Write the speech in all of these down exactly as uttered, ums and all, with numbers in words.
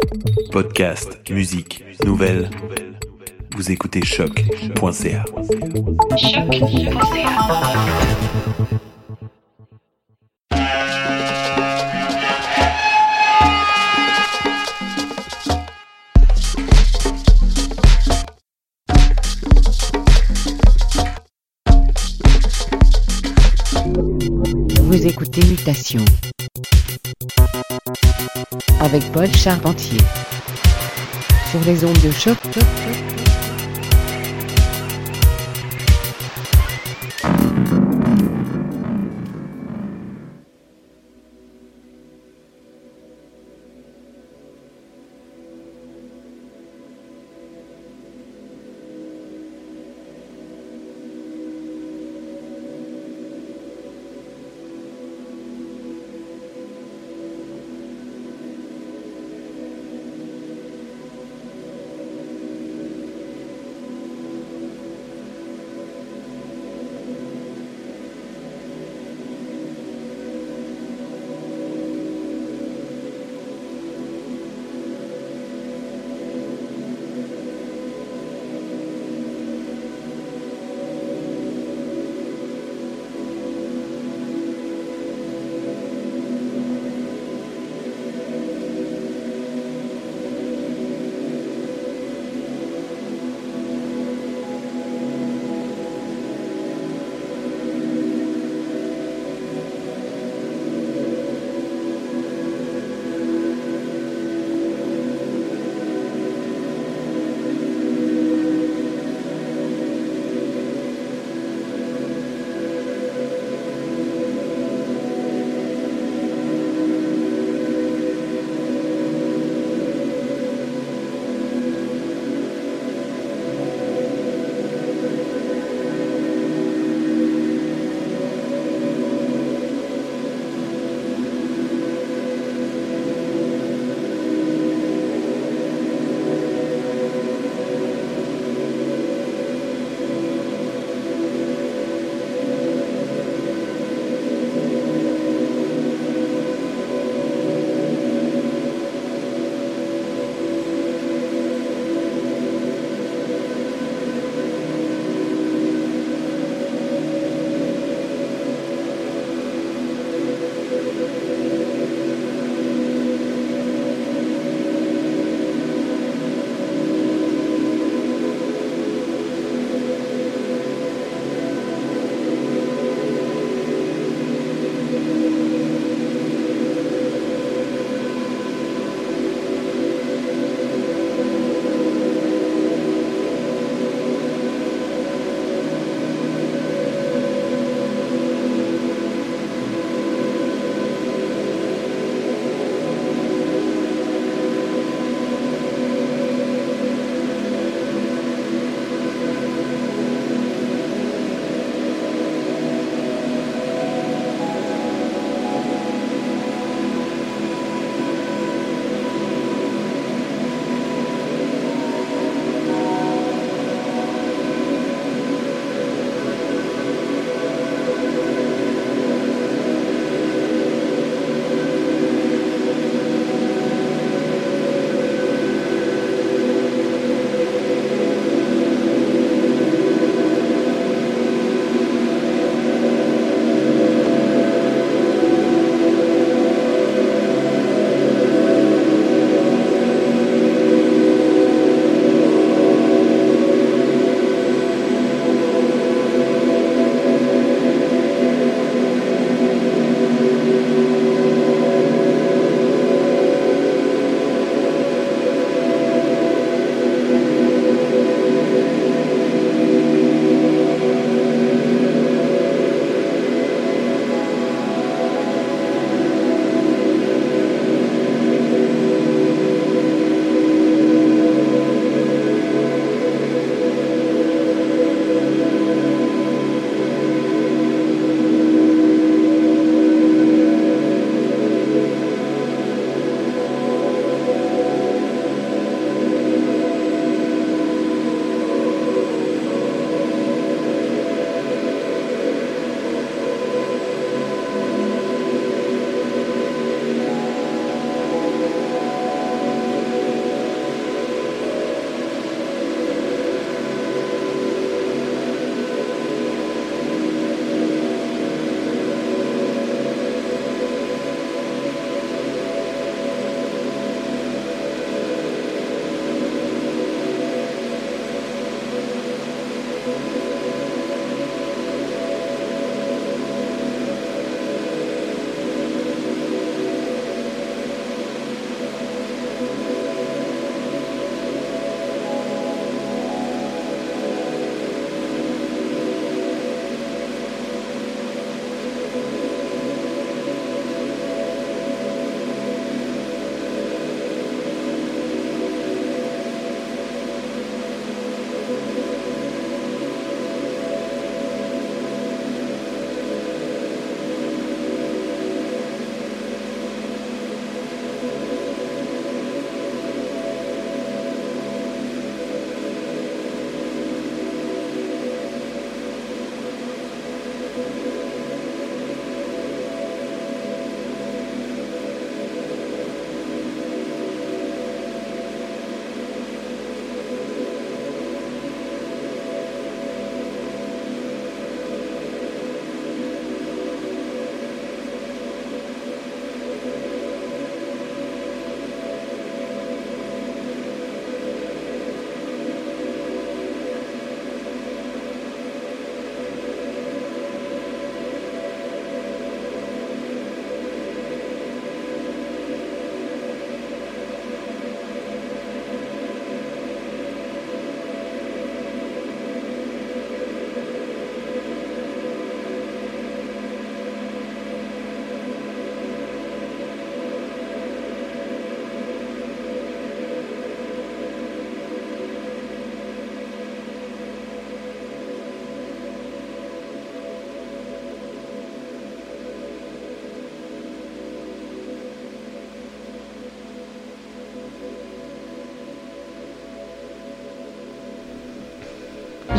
Podcast, musique, nouvelles. Vous écoutez choc point c a. choc point c a. Vous écoutez Mutation avec Paul Charpentier sur les ondes de choc.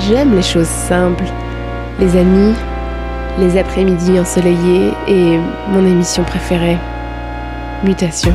j'aime les choses simples, les amis, les après-midi ensoleillés et mon émission préférée, Mutation.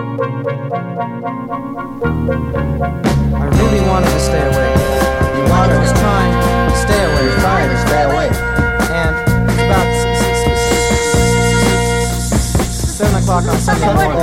I really wanted to stay awake. You wanted o'clock on Sunday morning.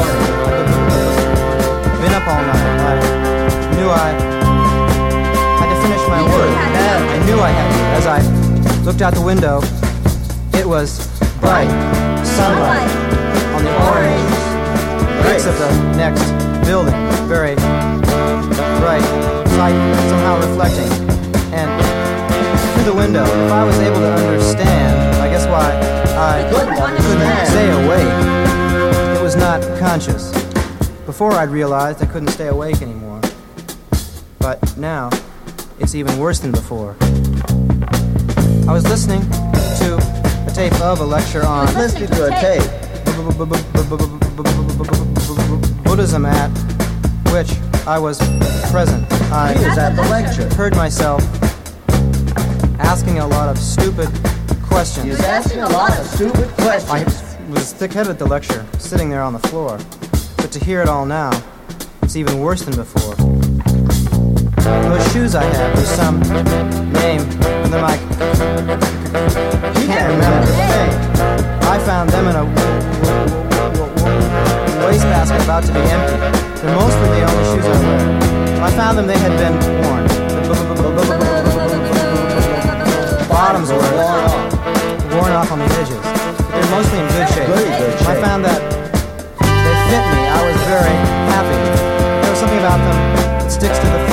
Been up all night. I knew I had to finish my work. I knew I had to. As I looked out the window, it was bright sunlight on the orange bricks of the next building. Very bright light somehow reflecting. And through the window, if I was able to understand, I guess why I couldn't stay awake, it was not conscious. Before I'd realized I couldn't stay awake anymore. But now, it's even worse than before. I was listening to a tape of a lecture on listening to a tape Buddhism at which I was present. I was at the lecture. Heard myself asking a lot of stupid questions. He was asking a lot of stupid questions. I was thick-headed at the lecture, sitting there on the floor. But to hear it all now, it's even worse than before. Those shoes I had were some name, and they're like, I can't remember the thing. I found them in a wastebasket about to be empty. They're mostly the only shoes I wear. When I found them, they had been worn. Bottoms were worn off, worn off on the edges. But they're mostly in good shape. Very good shape. I found that they fit me. I was very happy. There was something about them that sticks to the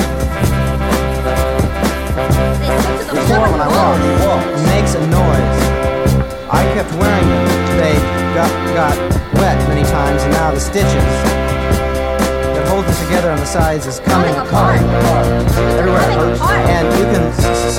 floor when I walk. It makes a noise. I kept wearing them. They got, got wet many times, and now the stitches that hold them together on the sides is coming apart. Everywhere. And you can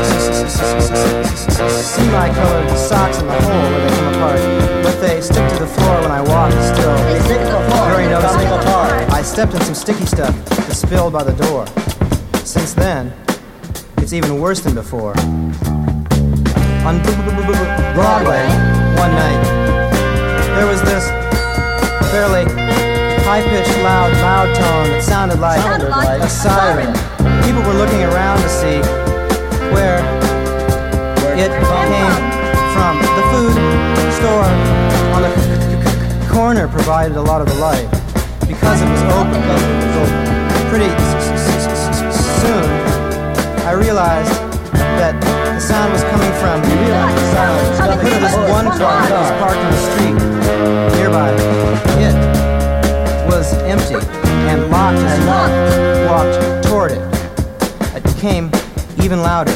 see my colored socks in the hole where they come apart. But they stick to the floor when I walk still. They stick to the floor. Very noticeable. Apart. I stepped in some sticky stuff that spilled by the door. Since then, it's even worse than before. On Broadway, one night, there was this fairly high-pitched, loud, loud tone that sounded like, sounded like a siren. People were looking around to see where, where it came from. The food store on the corner provided a lot of the light because it was open. So pretty soon, I realized that the sound was coming from the hood of this one car that was parked on the street nearby. It was empty and locked as I walked toward it. It became even louder.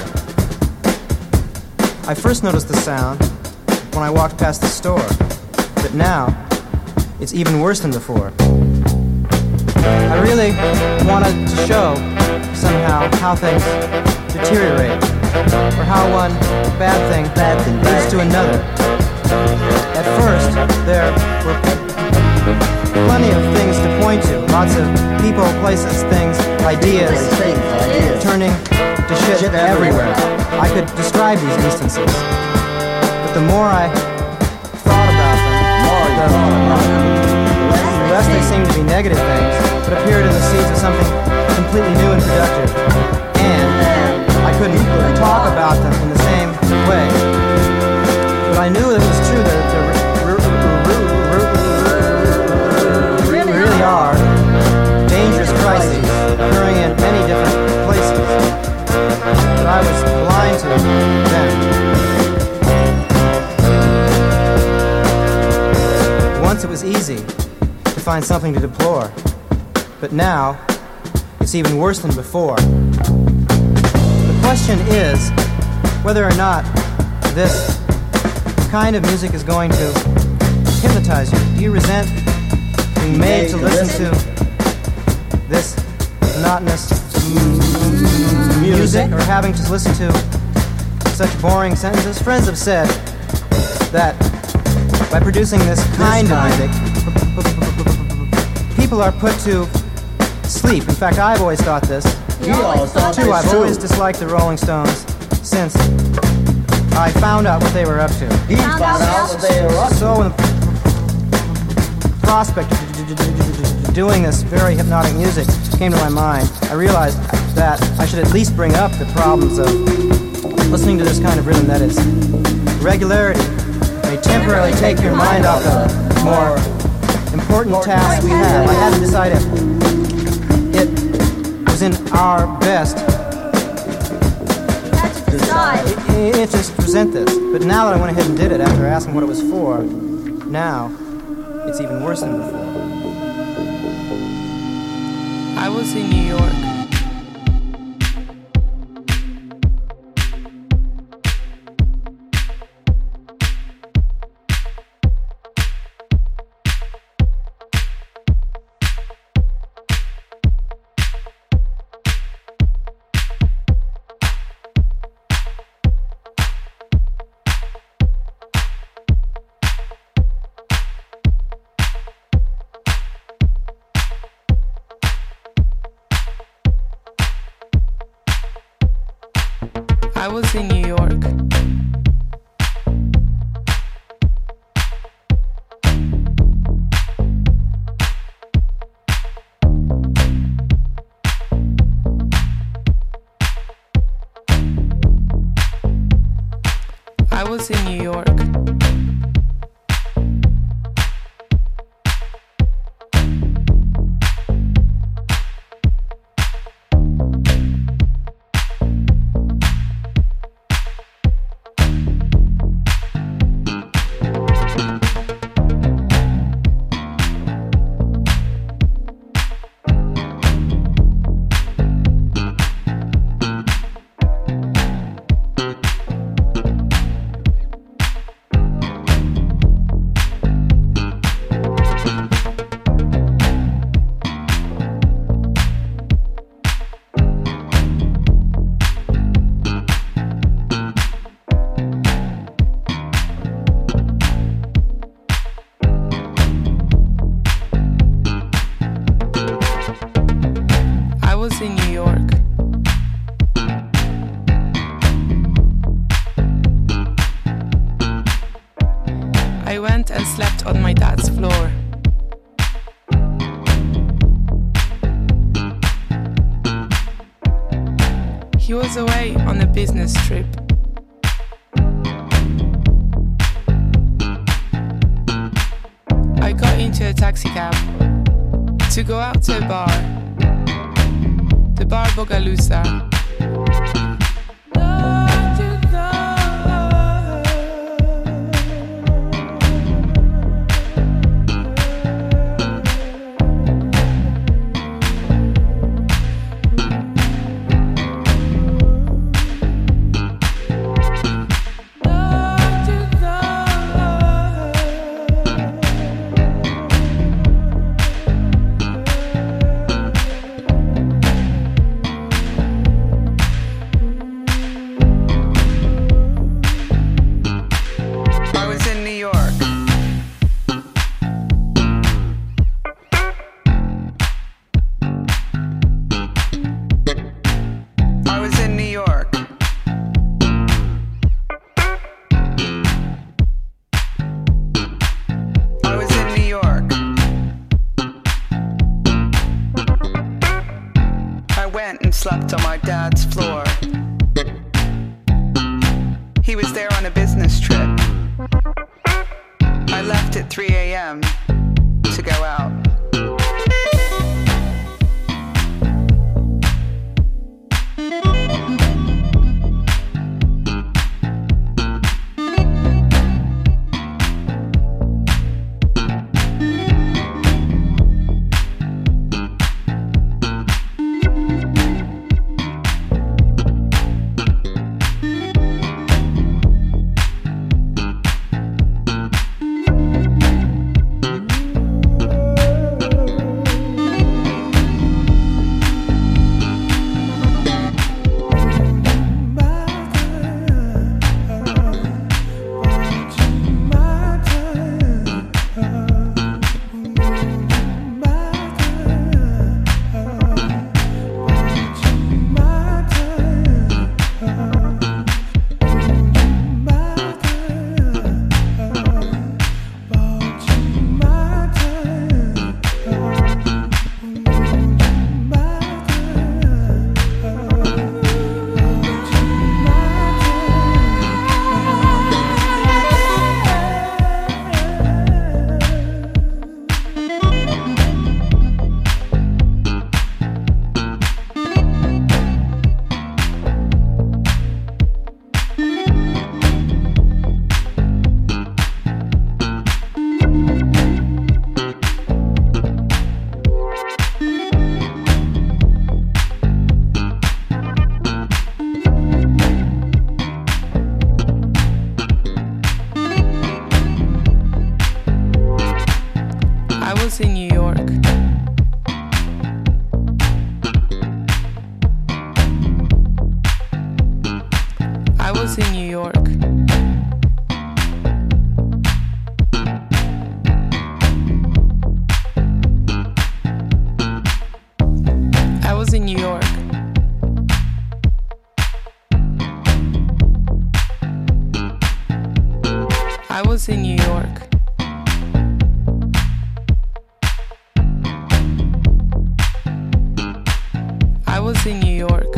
I first noticed the sound when I walked past the store, but now it's even worse than before. I really wanted to show somehow how things deteriorate, or how one bad thing, bad thing leads to another. At first, there were plenty of things to point to, lots of people, places, things, ideas, turning to shit everywhere. I could describe these instances, but the more I thought about them, the, the less they seemed to be negative things, but appeared in the seeds of something completely new and productive. And I couldn't talk about them in the same way. But I knew that it was true that there really are dangerous crises occurring in many different places. But I was blind to them. Once it was easy to find something to deplore. But now, it's even worse than before. The question is whether or not this kind of music is going to hypnotize you. Do you resent being made to listen to this monotonous music, or having to listen to such boring sentences? Friends have said that by producing this kind of music, people are put to sleep. In fact, I've always thought this. You always thought too. I've always disliked the Rolling Stones since I found out what they were up to. He found out what they were up to. So, when the prospect of doing this very hypnotic music came to my mind, I realized that I should at least bring up the problems of listening to this kind of rhythm, that is, regularity may temporarily take your mind off the more important task we have. I had to decide if it was in our best interest to present this. But now that I went ahead and did it after asking what it was for, now it's even worse than before. I was in New York. I was in New York. I was in New York. In New York. I went and slept on my dad's floor. He was away on a business trip. I got into a taxi cab to go out to a bar. The Bar Bogalusa. Slept on my dad's floor. He was there on a business trip. I left at three a.m. to go out. was in New York. I was in New York. I was in New York. I was in New York.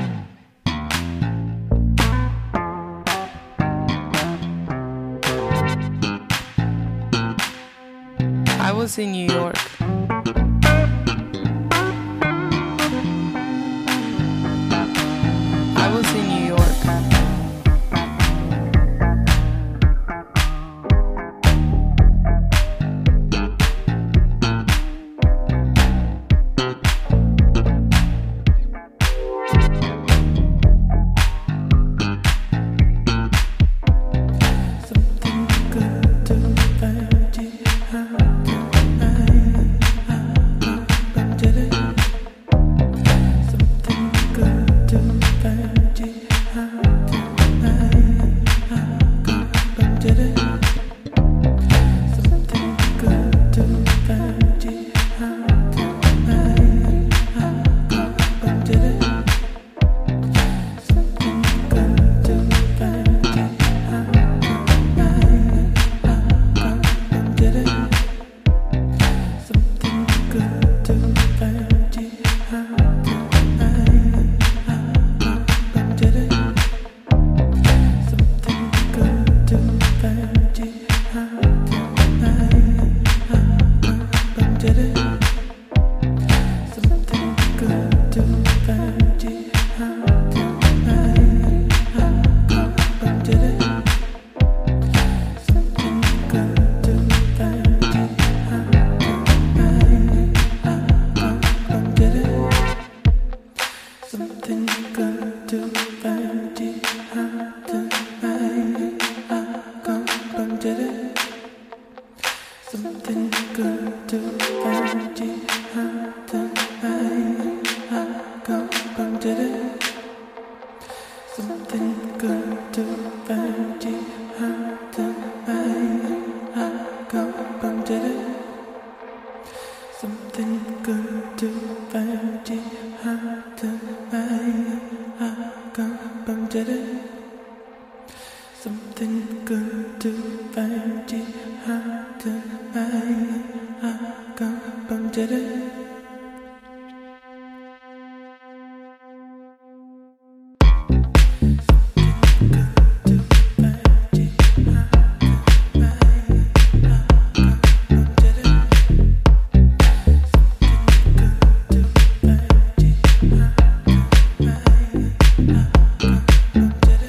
I was in New York. I was in New York. Did it?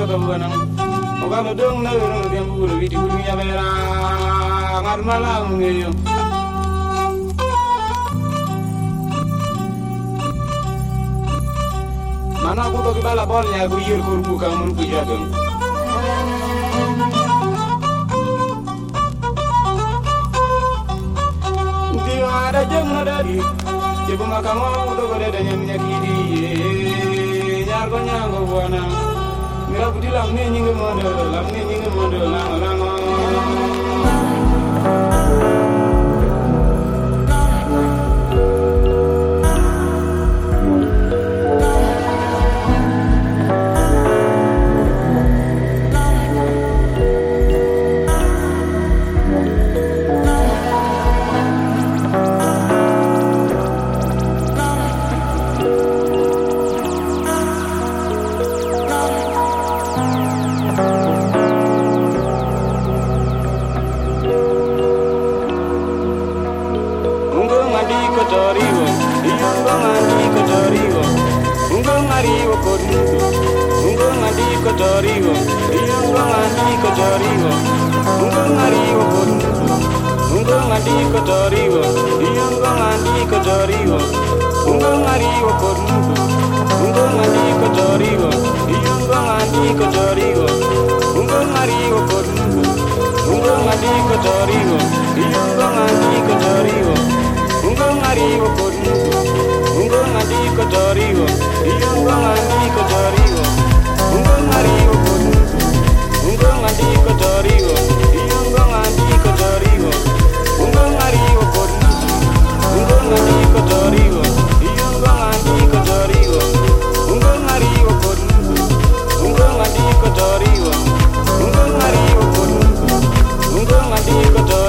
ka buana o ga no dong na no dem bu wi di wi ya bera ngar mala ngeyo mana ku to ki bala bol ya ku yir kur ku ka mun ku ya dum di ada jam na dari Ibu makamu udah pada dengan nyakiti, nyar kau nyanggo buana. Mira budi lam ni nyingge model, lam ni nyingge model, lang lang. Torigo, Ungo Mandico Torigo, Ungo Marigo Ungo Mandico Torigo, Ungo Mandico Torigo, Ungo Marigo Ungo Mandico Torigo, Ungo Mandico Torigo, Ungo Marigo Ungo Mandico Torigo, Ungo Mandico Torigo, Ungo Marigo Ungo Mandico Torigo, Ungo Mandico Torigo. Ungo Marigo Ungo Mandico Torigo, Ungo Mandico Torigo, Ungo Marigo Ungo Mandico Torigo, Ungo Mandico Torigo, Ungo Marigo Ungo Mandico Torigo, Ungo Marigo Ungo Mandico Torigo.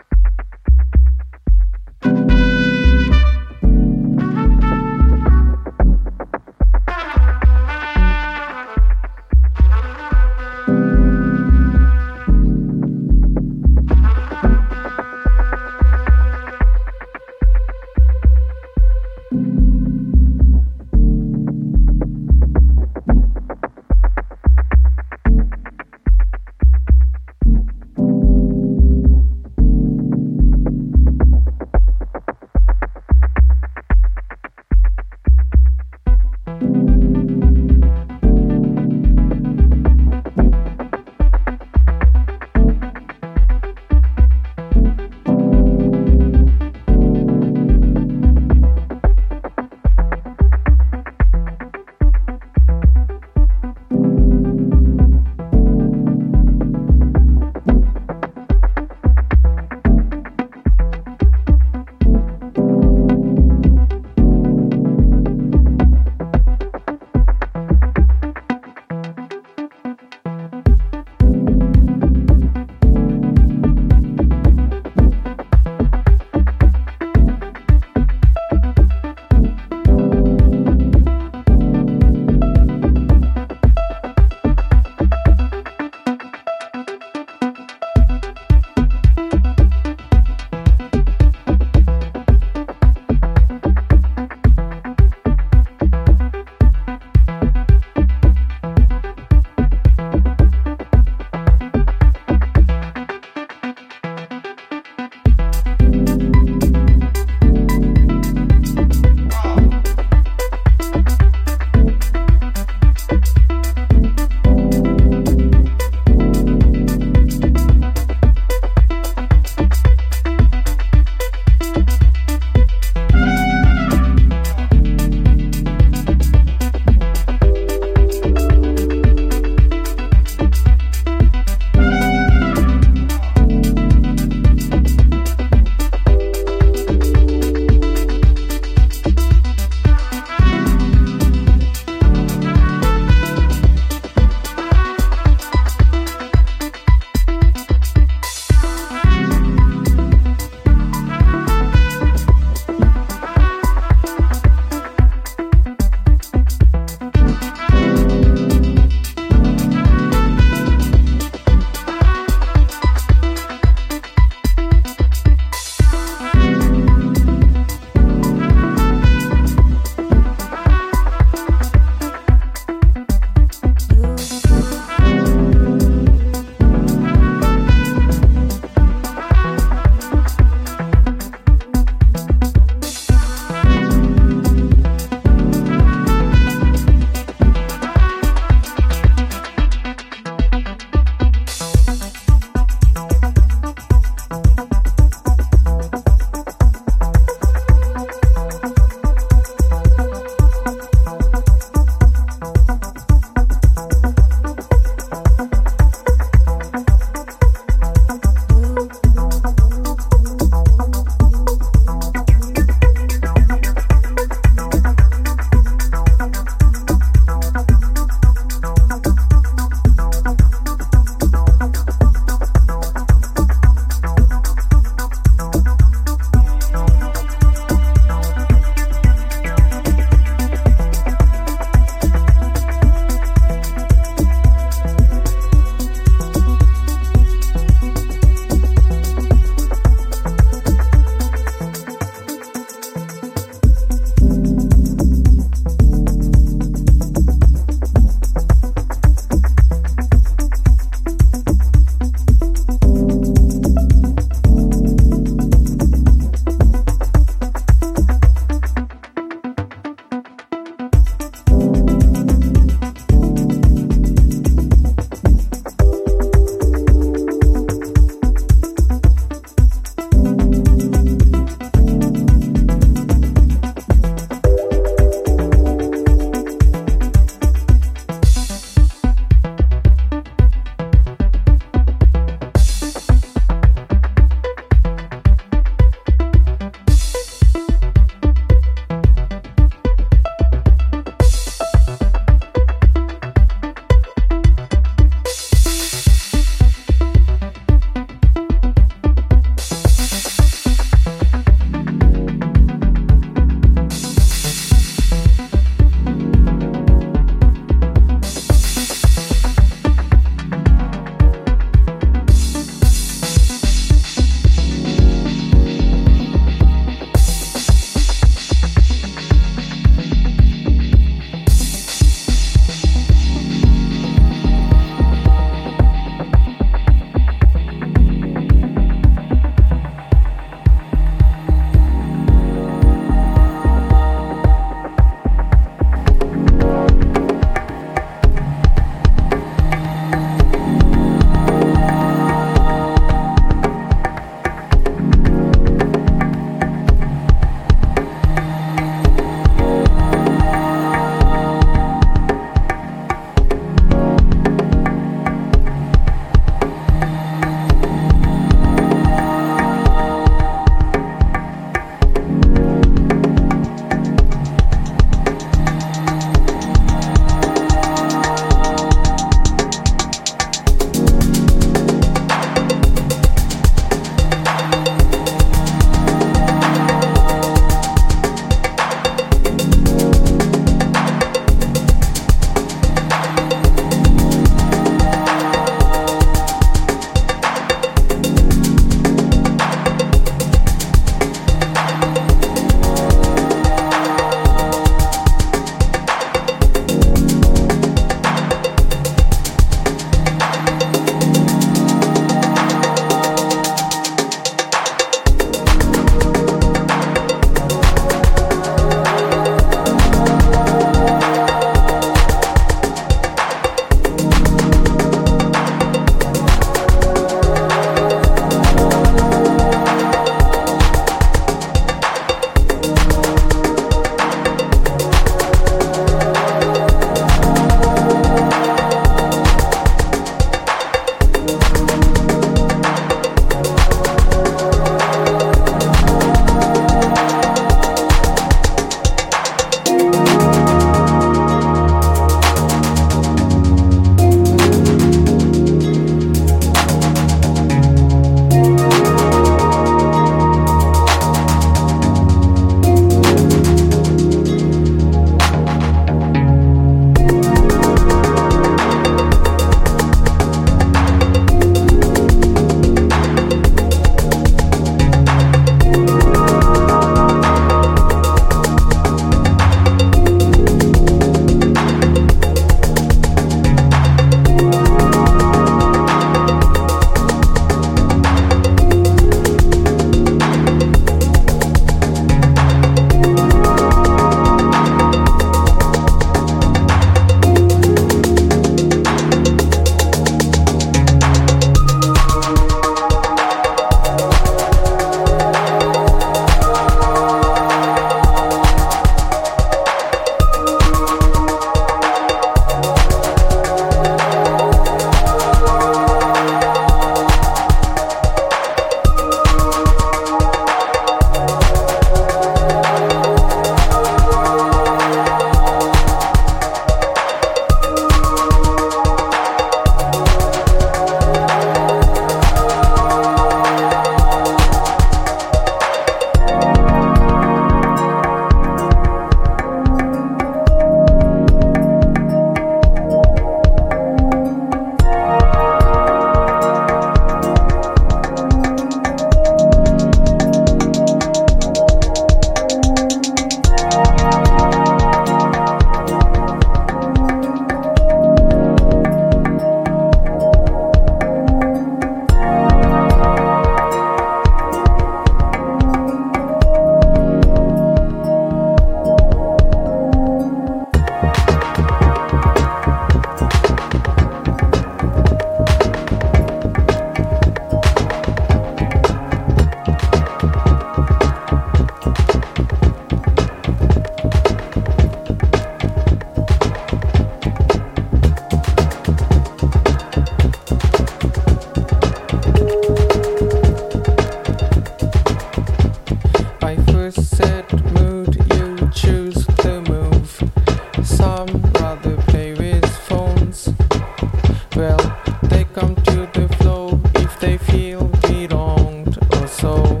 some rather play with phones. Well, they come to the flow if they feel wronged or so.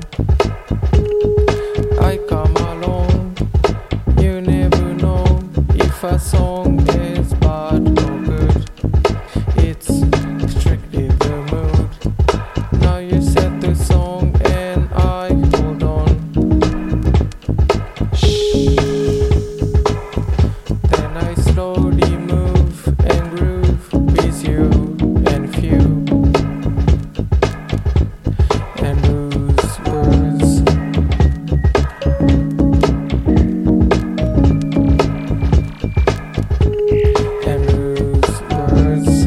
I come along, you never know if a song is bad or good. It's strictly the mood. Now you set the song and I hold on. Shh. Then I slowly move and groove with you and few and lose words. And lose words.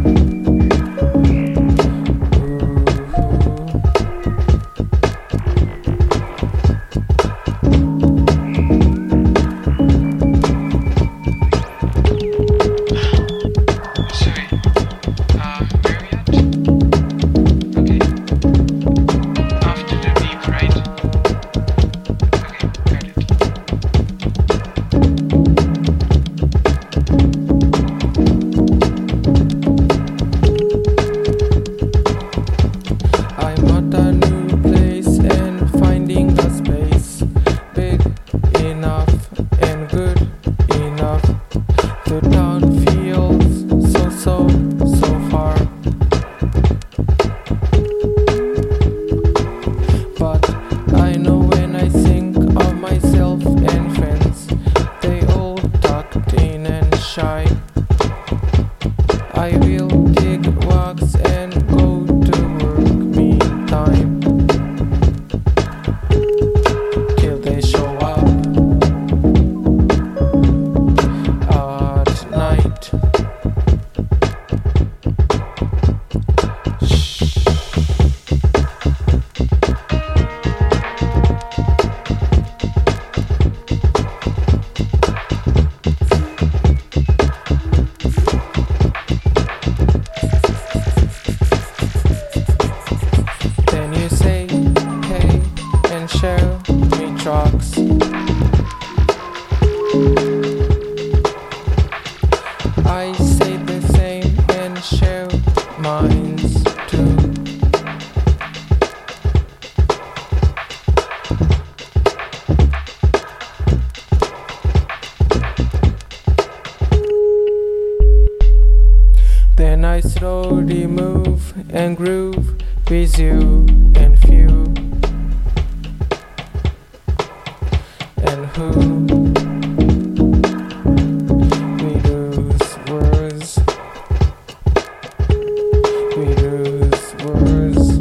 Sorry. Uh, where are we at? Okay. After the beep, right? Okay, got it. I'm at a new place and finding a space big enough and good enough. The town feels so, so, so far. But I know when I think of myself and friends, they all tucked in and shy. I will dig wax and go to work meantime till they show up at night. Shh. Then you say, hey, and show me trucks. I say the same and show mines too. Then I slowly move and groove with you and few and who we lose words. We lose words.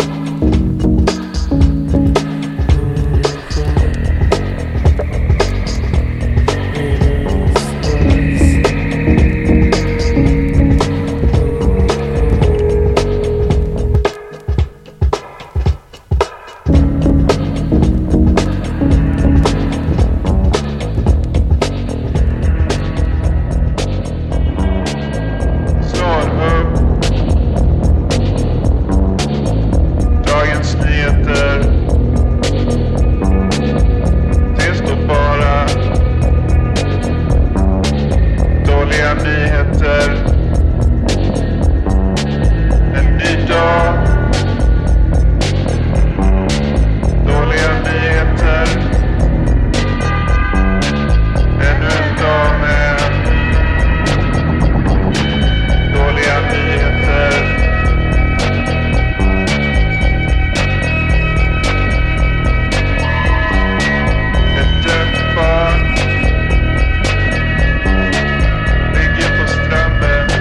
Ligger på stranden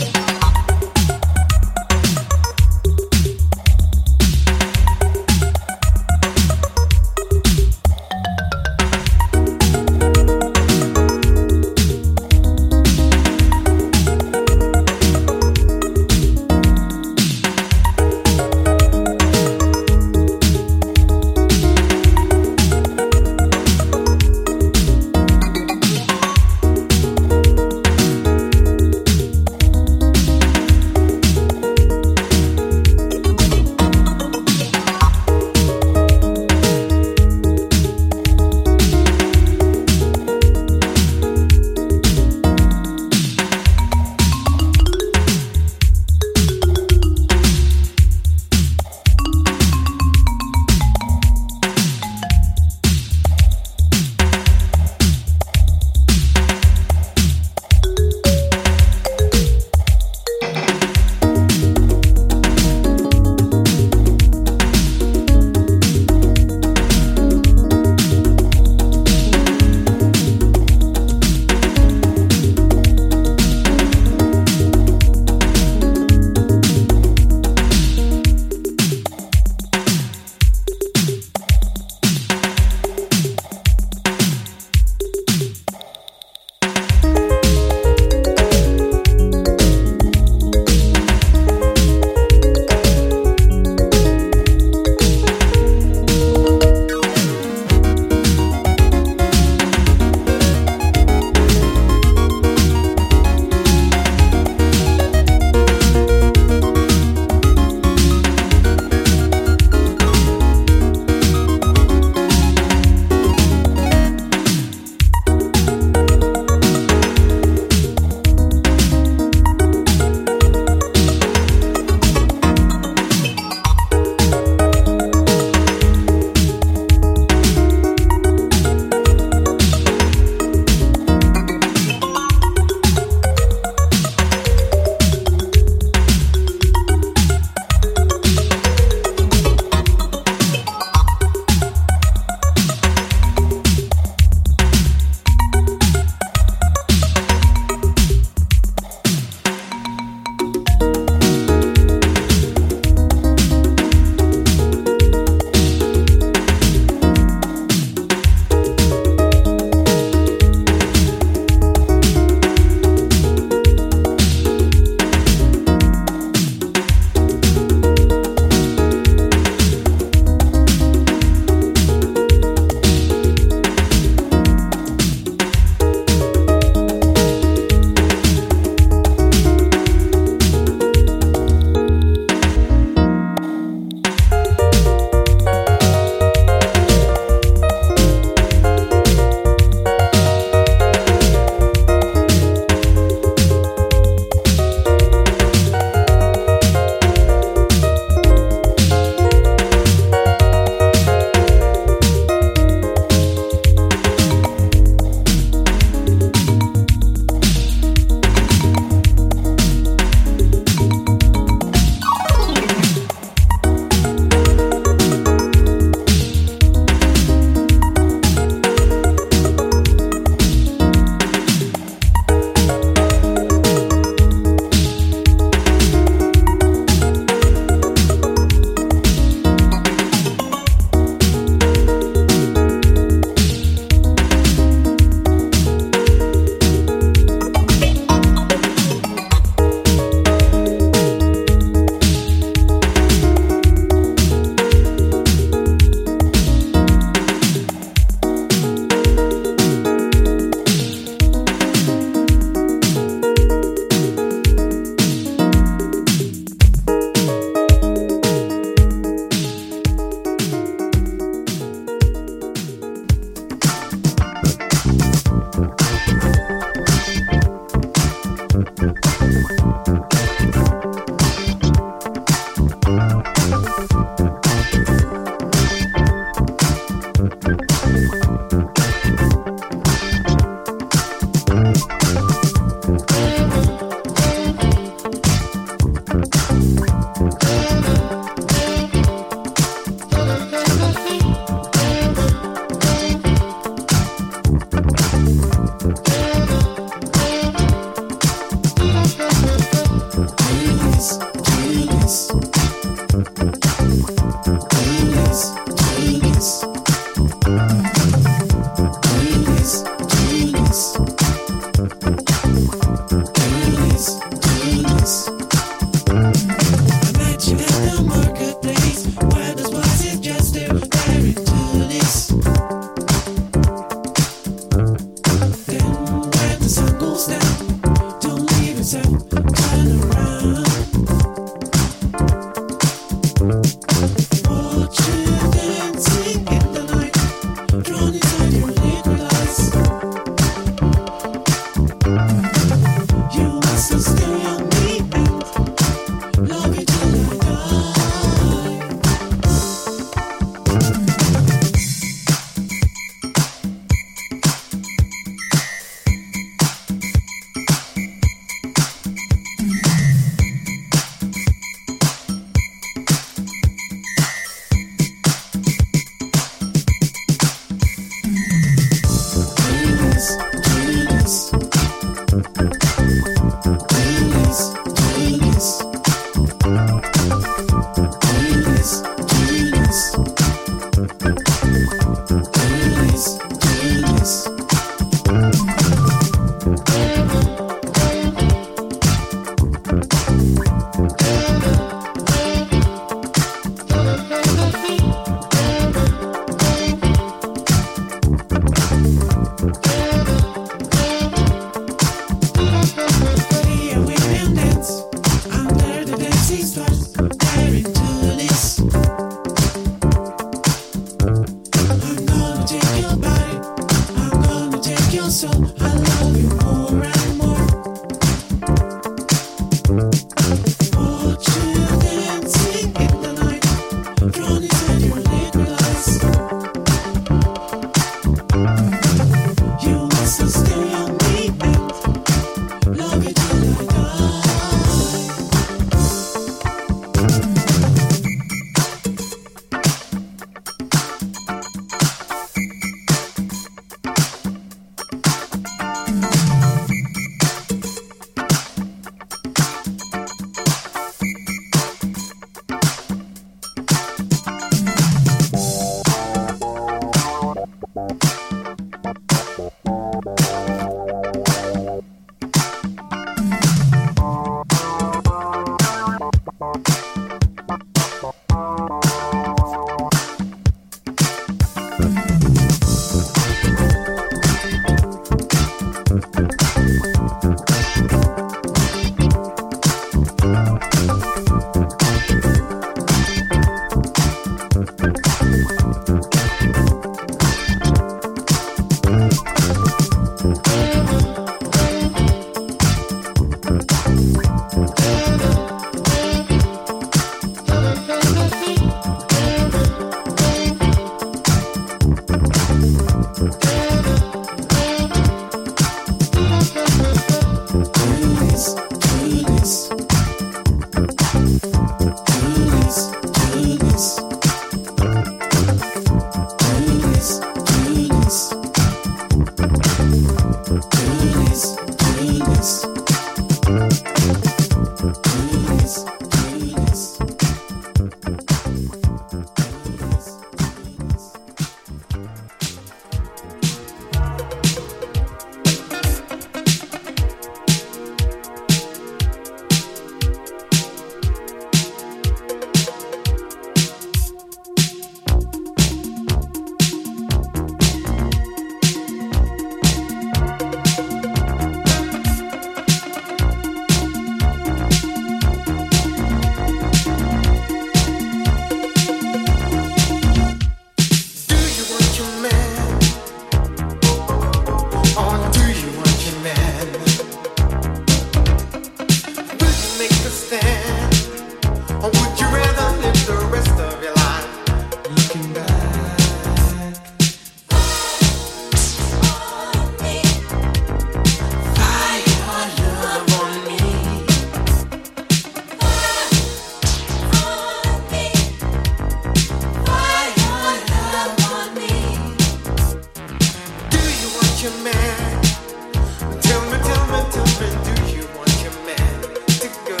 your man? Tell me, tell me, tell me, do you want your man to go?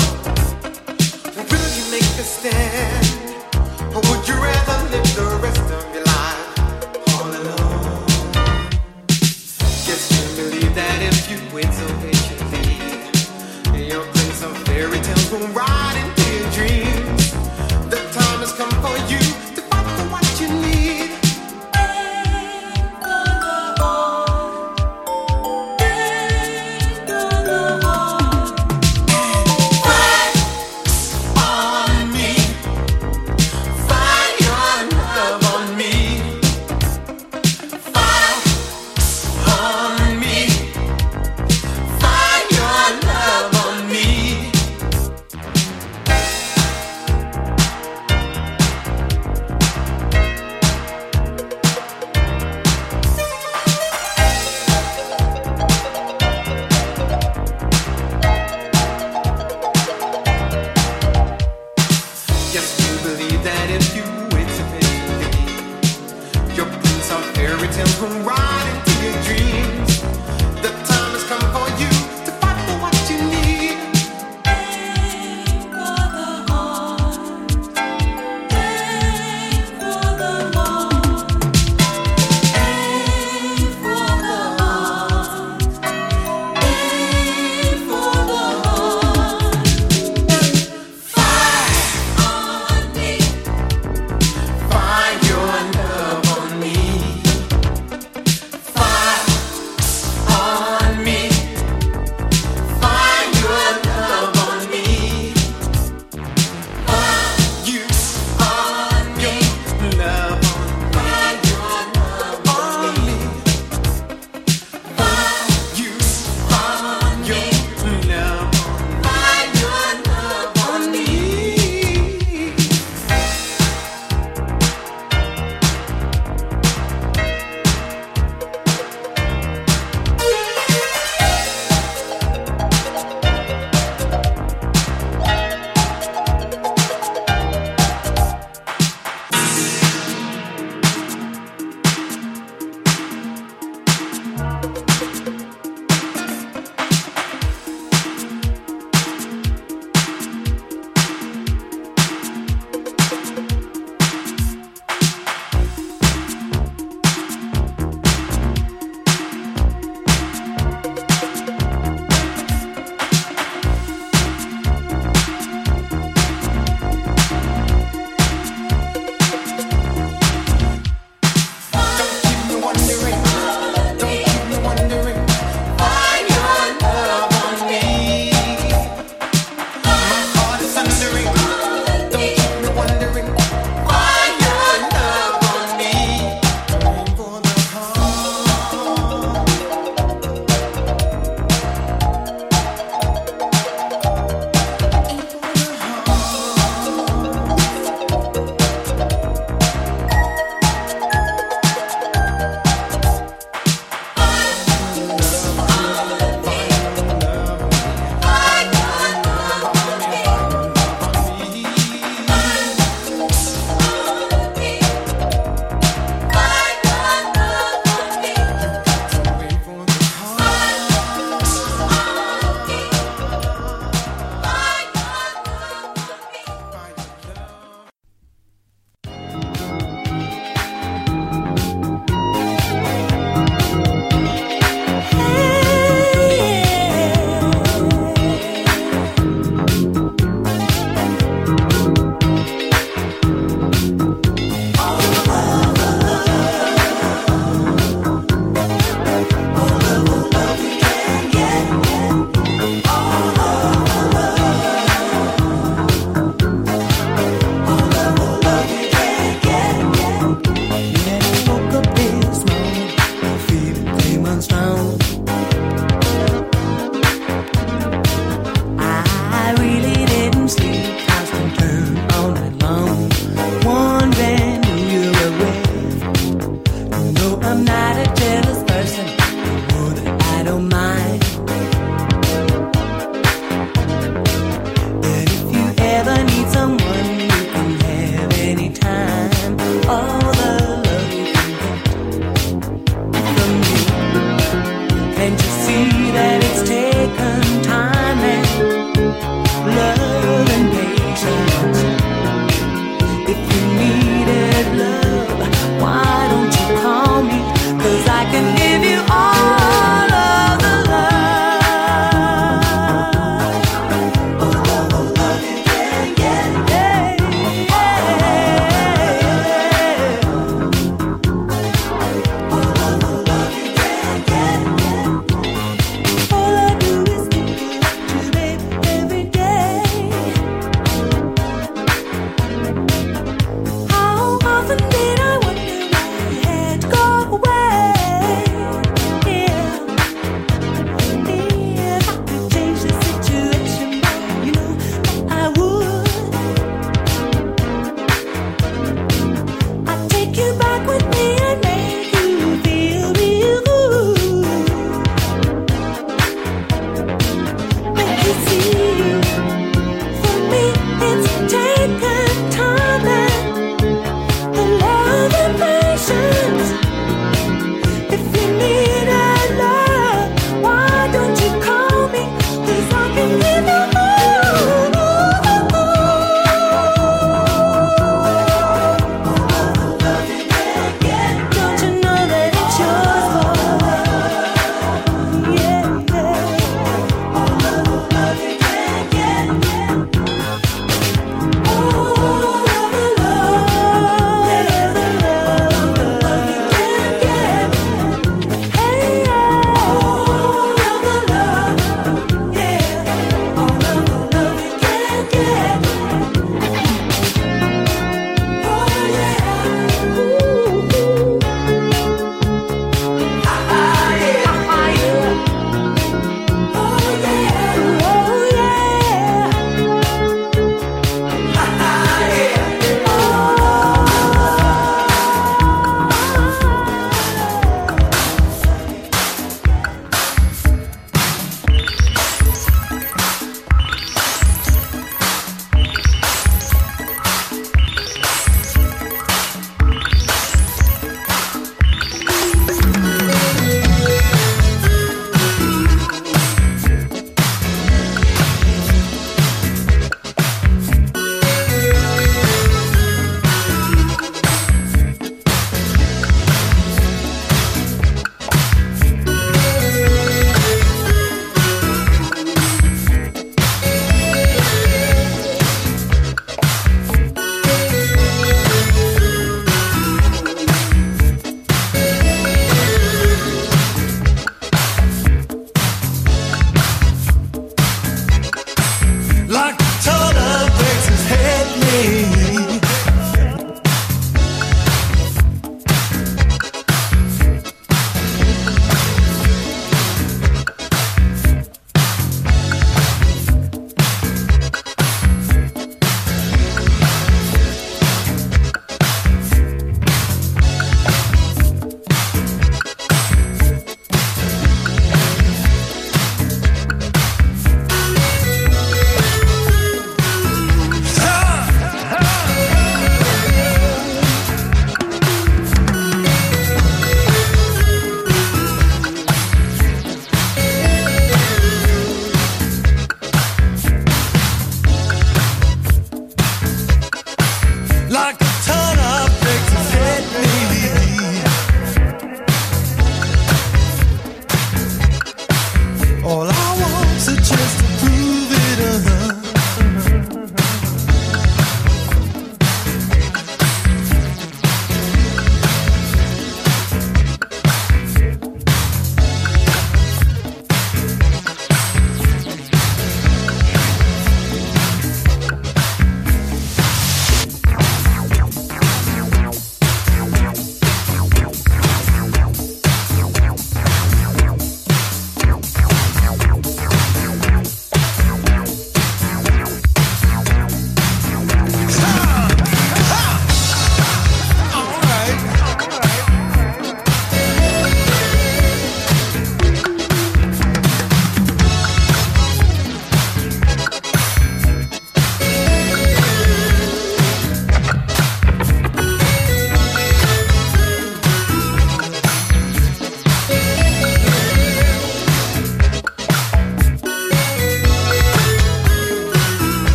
Will you make a stand? Or would you rather live the rest of your life all alone? Guess you believe that if you wait so patiently, your prince of fairy tales will ride into your dreams. The time has come for you to fight for what you need.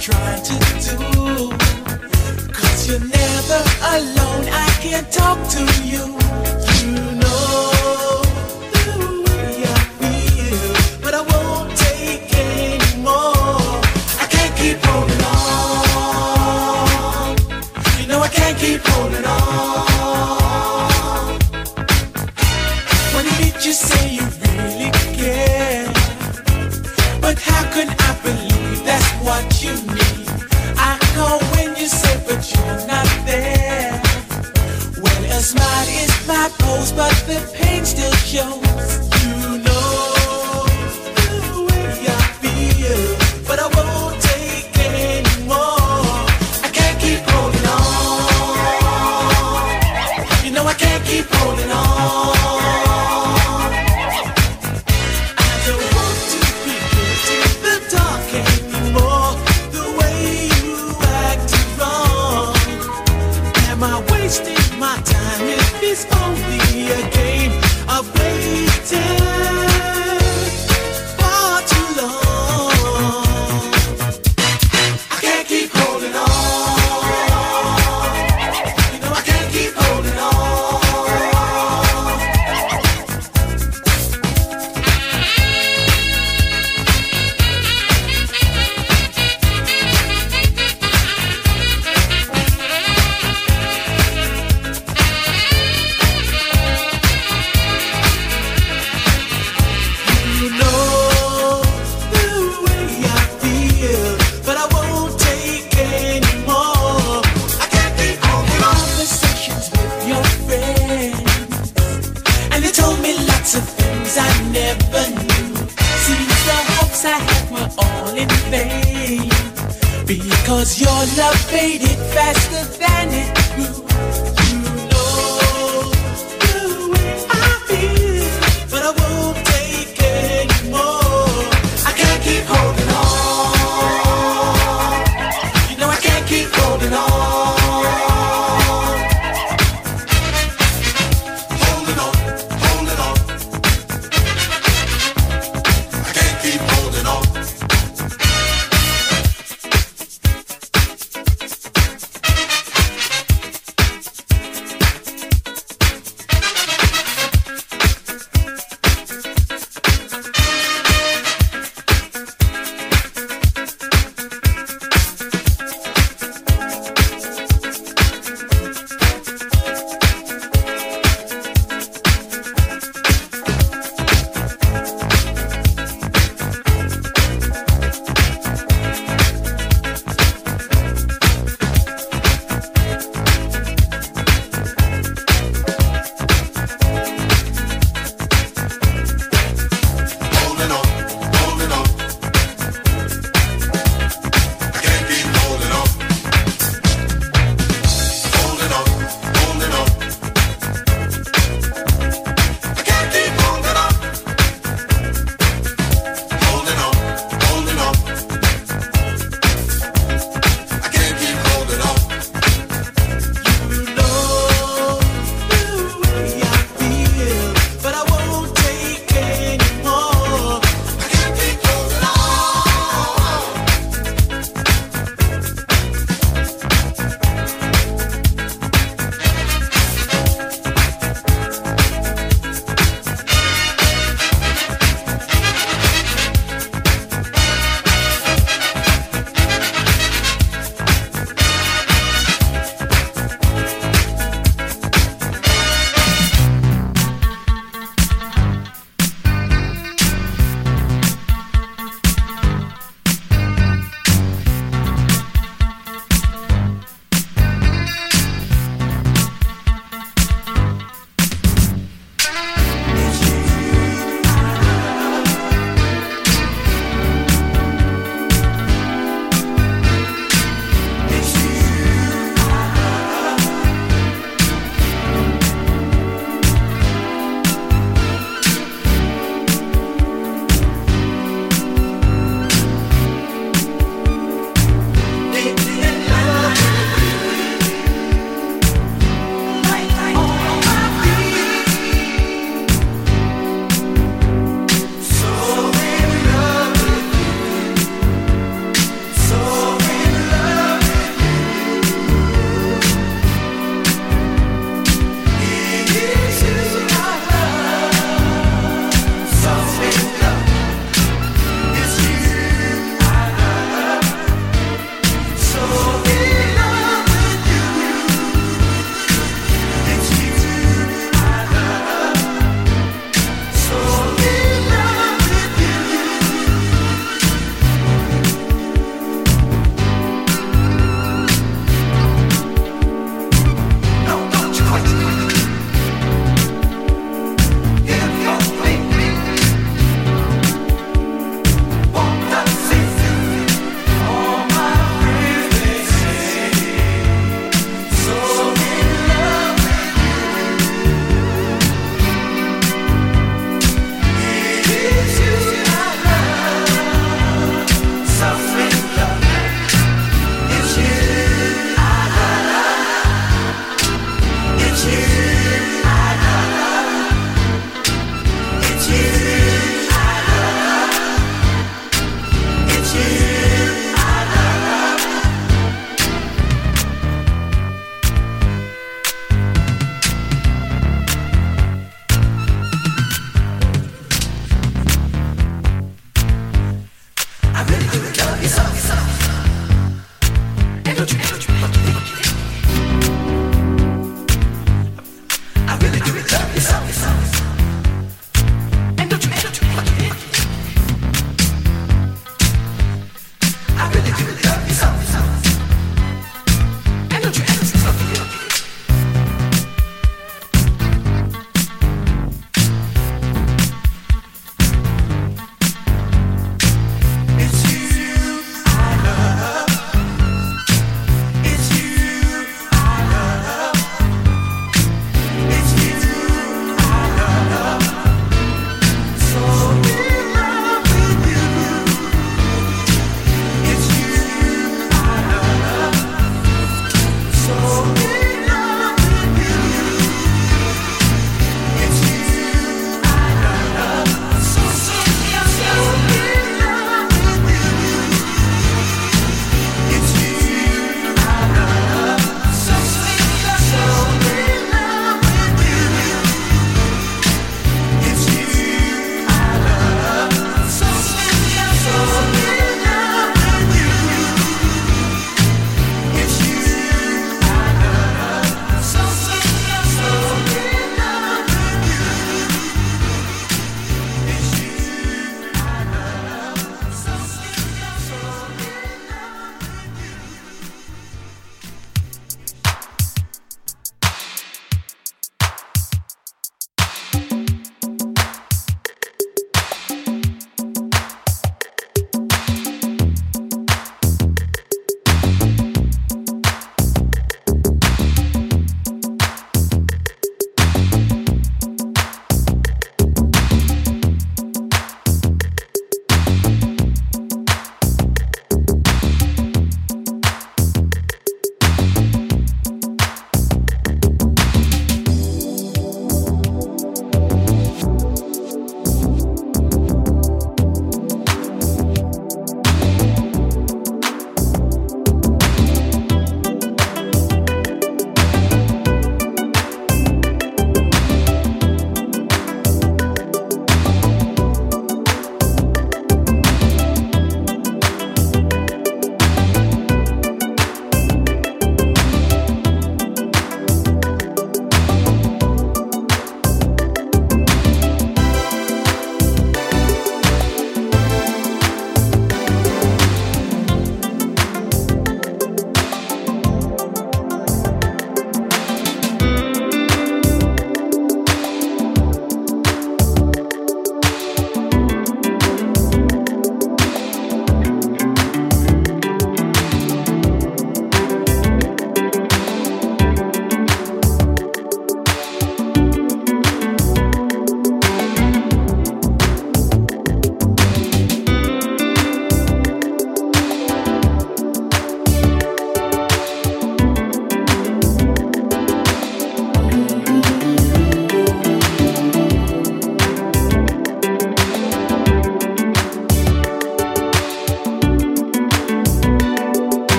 trying to do. Cause you're never alone, I can talk to you. You know the way I feel, but I won't take anymore. I can't keep holding on. You know I can't keep holding on. When you meet you say you really care, but how can I believe that's what you need? I call when you say but you're not there. Well, a smile is my pose, but the pain still shows. You know the way I feel, but I won't take anymore. I can't keep holding on. You know I can't keep holding on. My time if it's only a game of waiting far too long. I can't keep holding on. You know I can't keep holding because your love faded faster than